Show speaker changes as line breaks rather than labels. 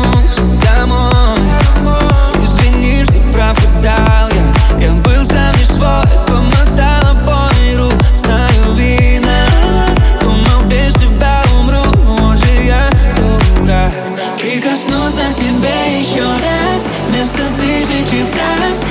вернулся домой. Извини, что пропадал я был сам не свой. Помотал обои рук, знаю, виноват. Думал, без тебя умру, вот же я дурак. Прикоснуться к тебе еще раз вместо тысячи фраз.